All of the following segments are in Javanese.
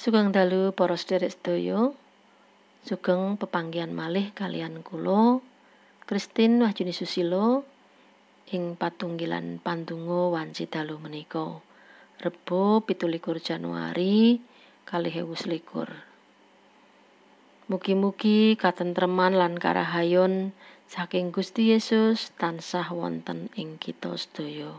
Sugeng dalu para sedherek sedaya. Sugeng pepanggihan malih kaliyan kula Christine Wahyuni Susilo ing patunggilan pandonga wanci dalu menika. Rebo 17 Januari 2021. Mugi-mugi katentreman lan karahayon saking Gusti Yesus tansah wonten ing kita sedaya.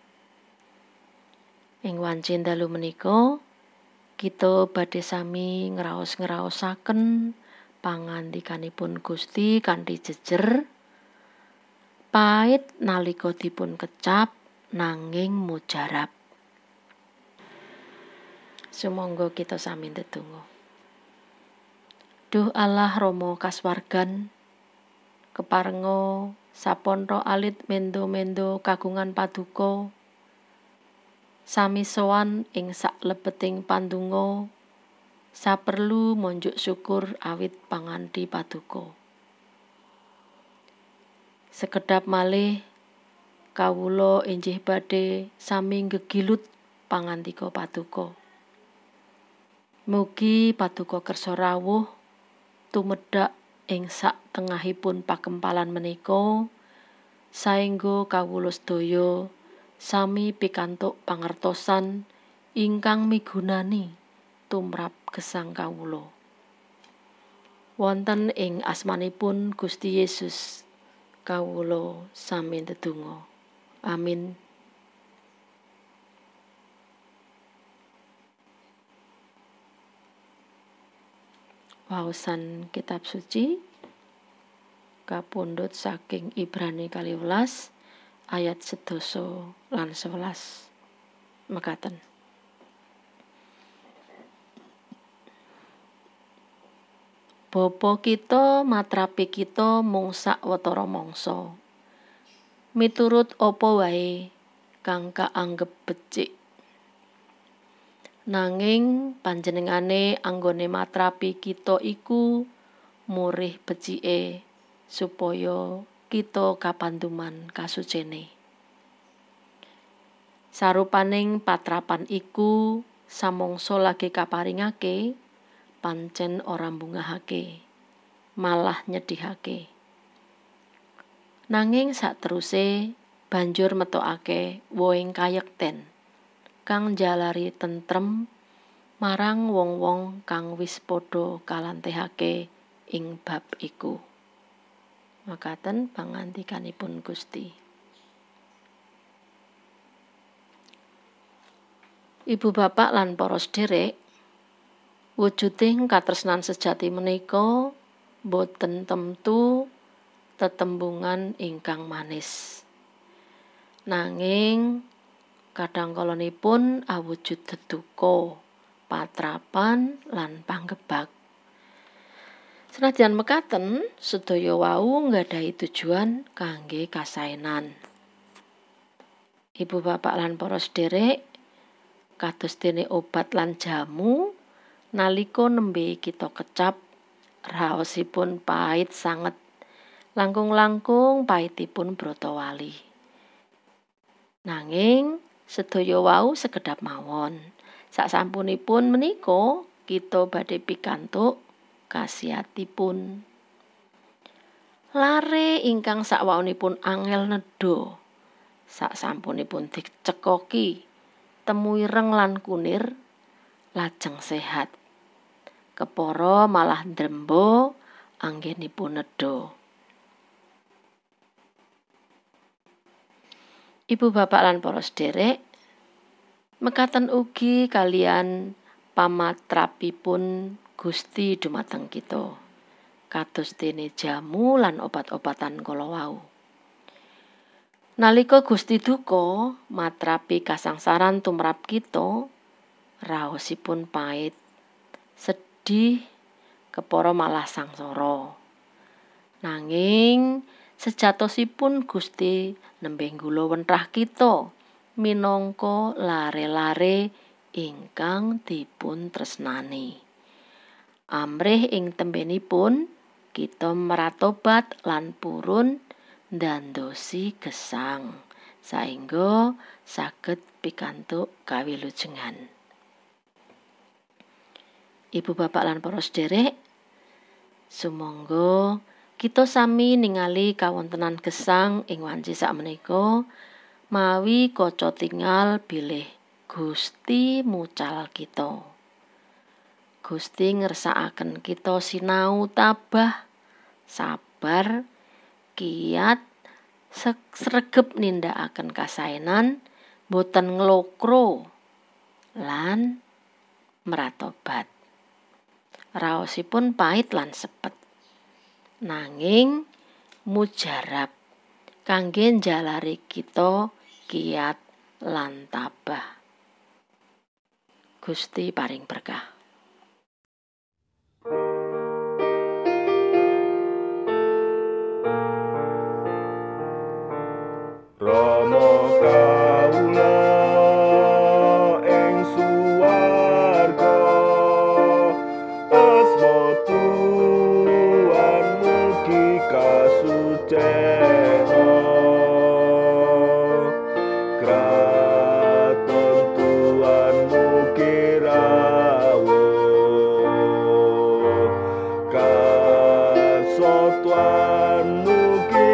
Ing wanci dalu menika kita badhe sami ngraos-ngraosaken pangandikanipun Gusti kanthi jejer, pait nalika dipun kecap nanging mujarab. Sumangga kita sami ndedonga. Duh Allah Rama kasuwargan, keparenga sapontho alit mendo-mendo kagungan paduka, sami sowan ing saklebeting pandonga, saperlu monjuk syukur awit panganthi paduka. Sekedhap malih kawula injih badhe sami gegilut pangandika paduka. Mugi paduka kersa rawuh tumedhak ing sak tengahipun pakempalan menika, saengga kawula sedaya sami pikantuk pangertosan ingkang migunani tumrap gesang kawula. Wonten ing asmanipun Gusti Yesus kawula sami ndedonga. Amin. Waosan kitab suci kapundhut saking Ibrani 12 ayat 11 lan 11 mekaten. Bapa kita matrapi kita mung sawetara mangsa, miturut apa wae kang kaanggep becik. Nanging panjenengane anggone matrapi kita iku murih becike supaya kita kapanduman kasucene. Sarupaning patrapan iku samangsa lagi kaparingake pancen ora mbungahake, malah nyedhihake. Nanging sakteruse banjur metokake wohing kayekten kang njalari tentrem marang wong-wong kang wis padha kalantehake ing bab iku. Makaten pangandikanipun Gusti. Ibu bapak lan para sedherek, wujuding katresnan sejati menika boten temtu tetembungan ingkang manis. Nanging kadangkalanipun awujud deduka, patrapan lan panggebak. Senadyan mekaten, sedaya wau nggadahi tujuan kangge kasaenan. Ibu bapak lan para sedherek, kados dene obat lan jamu, nalika nembe kita kecap, raosipun pait sanget, langkung-langkung paitipun bratawali. Nanging sedaya wau sekedhap mawon. Sasampunipun menika kita badhe pikantuk khasiatipun. Lare ingkang sakwaonipun angel nedha, sasampunipun dicekoki temu ireng lan kunir, lajeng sehat. Kepara malah ndremba anggenipun nedha. Ibu bapak lan para sedherek, mekaten ugi kalian pamatrapipun Gusti dumateng kita, kados dene jamu lan obat-obatan kala wau. Nalika Gusti duka matrapi kasangsaran tumrap kita, raosipun pait, sedih, kepara malah sangsara. Nanging sejatosipun Gusti nembe nggula wentrah kita minangka lare-lare ingkang dipun tresnani. Amrih ing tembenipun kita meratobat lan purun ndandosi gesang saengga saged pikantuk kawilujengan. Ibu bapak lan para sedherek, sumangga kita sami ningali kawontenan gesang ing wanci sakmenika mawi kaca tingal bilih Gusti mucal kita. Gusti ngersakaken kita sinau tabah, sabar, kiat, sregep nindakaken kasaenan, boten nglokro lan mratobat. Raosipun pait lan sepet, nanging mujarab kangge njalari kita kiat lan tabah. Gusti paring berkah. Rama kawula ing suwarga, asma Tuhan mugi kasucena. Kraton Tuhan mugi rawuh, karsa Tuhan mugi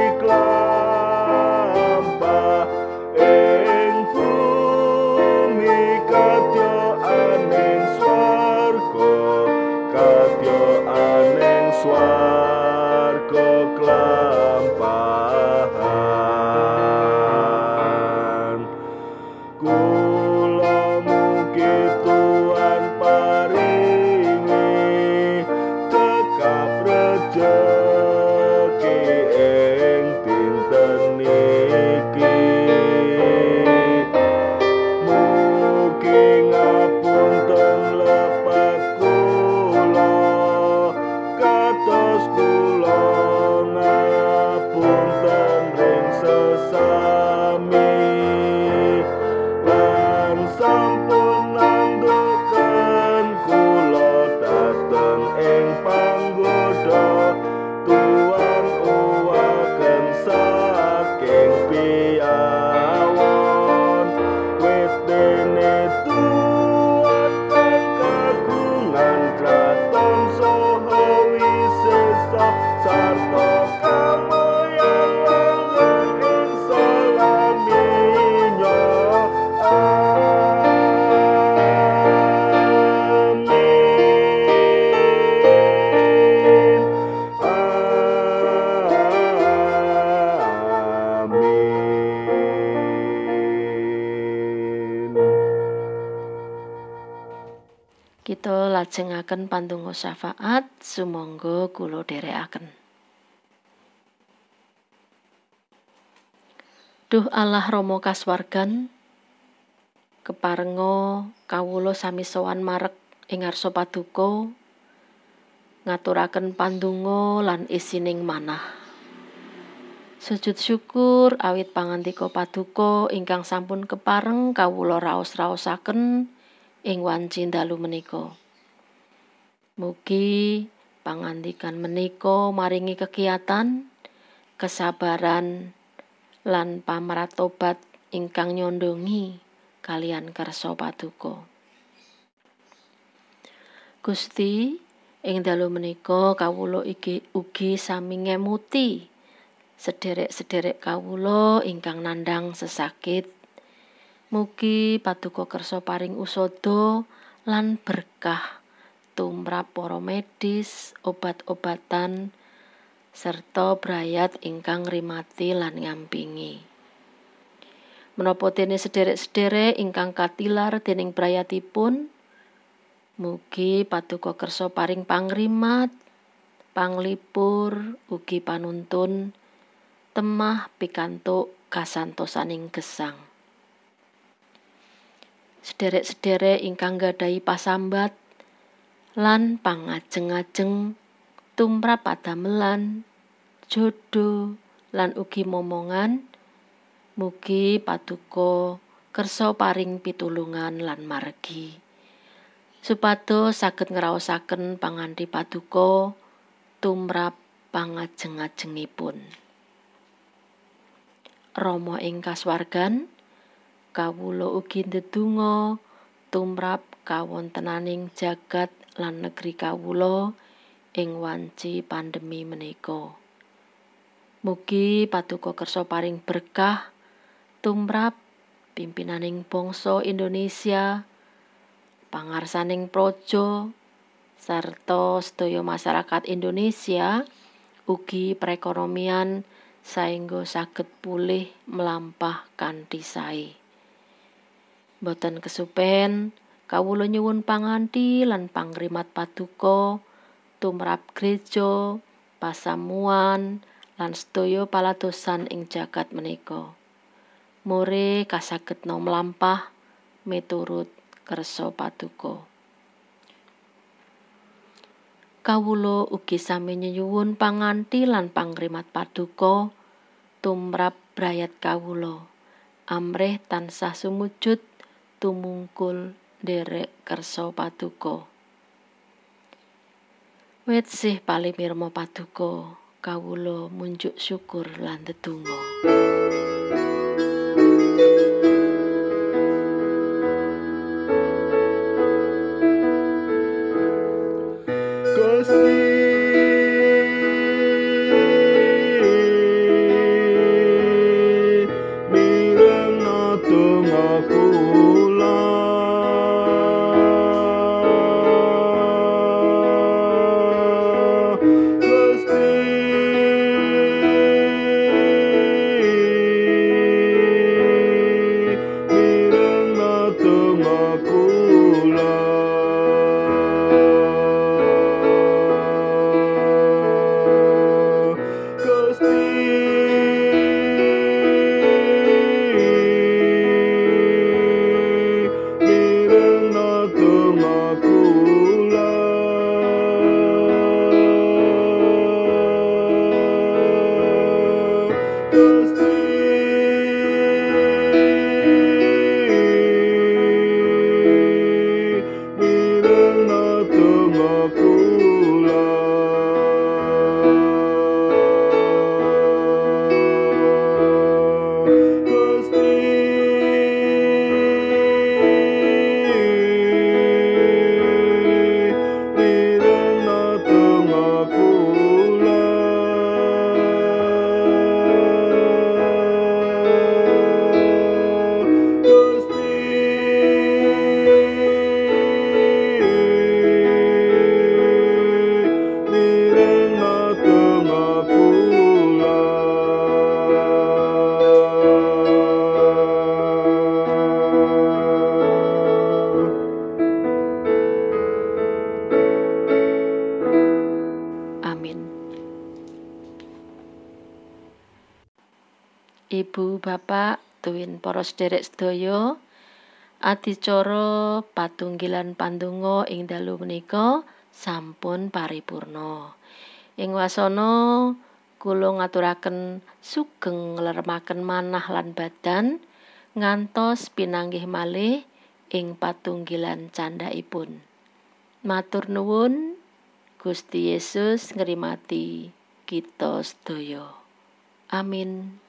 klampah ing bumi kadya aning swarga, kadya aning swarga klampahan. Kula mugi Tuhan paringi cekap rejeki ing dinten niki. Mugi ngapunten lepat kula, kados kula ngapunten ring sesami. Lan sampun nanduken kula dateng ing panggoda, Tuhan uwaken saking piawon. Wit dene Tuhan kang kagungan kraton saha wisesa sarta kamulian langgeng ing salaminya. Kita lajengaken pandonga syafaat, sumangga kula dherekaken. Duh Allah Rama kasuwargan, keparenga kawula sami sowan marek ing ngarsa paduka, ngaturaken pandonga lan isining manah. Sujud syukur awit pangandika paduka ingkang sampun kepareng kawula raos-raosaken ing wanci dalu menika. Mugi pangandikan menika maringi kegiatan, kesabaran lan pamratobat ingkang nyondongi kalian kersa paduka. Gusti, ing dalu menika kawula ugi sami ngemuti sederek-sederek kawula ingkang nandhang sesakit. Mugi paduka kersa paring usada lan berkah tumrap para medis, obat-obatan, serta brayat ingkang rimati lan ngampingi. Menapa dene sederek-sederek ingkang katilar dening brayatipun, mugi paduka kersa paring pangrimat, panglipur, ugi panuntun, temah pikantuk kasantosaning gesang. Sederek-sederek ingkang gadahi pasambat lan pangajeng-ajeng tumrap padamelan, jodoh lan ugi momongan, mugi paduka kersa paring pitulungan lan margi, supados saged ngraosaken pangandhi paduka tumrap pangajeng-ajengipun. Rama ing kasuwargan, kawula ugi ndedonga tumrap kawontenaning jagat lan negeri kawula ing wanci pandemi menika. Mugi Paduka kersa paring berkah tumrap pimpinaning bangsa Indonesia, pangarsaning praja, sarta sedaya masyarakat Indonesia, ugi perekonomian saengga saged pulih mlampah kanthi sae. Boten kesupen kawula nyuwun panganthi lan pangrimat Paduka tumrap gereja, pasamuan lan sedaya paladosan ing jagat menika. More kasagedna mlampah miturut kersa Paduka. Kawula ugi sami nyuwun panganthi lan pangrimat Paduka tumrap brayat kawula amrih tansah sumujud tumungkul nderek kersa Paduka. Wit sih palimirma Paduka, kawula munjuk syukur lan ndedonga. Gusti mirengna donga kula, Gusti mirengna donga kula. Ibu bapak tuwin para sedherek sedaya, adicara patunggilan pandonga ing dalu menika sampun paripurna. Ing wasana kula ngaturaken sugeng nglermaken manah lan badan ngantos pinanggih malih ing patunggilan candhaipun. Matur nuwun, Gusti Yesus ngrimati kita sedaya. Amin.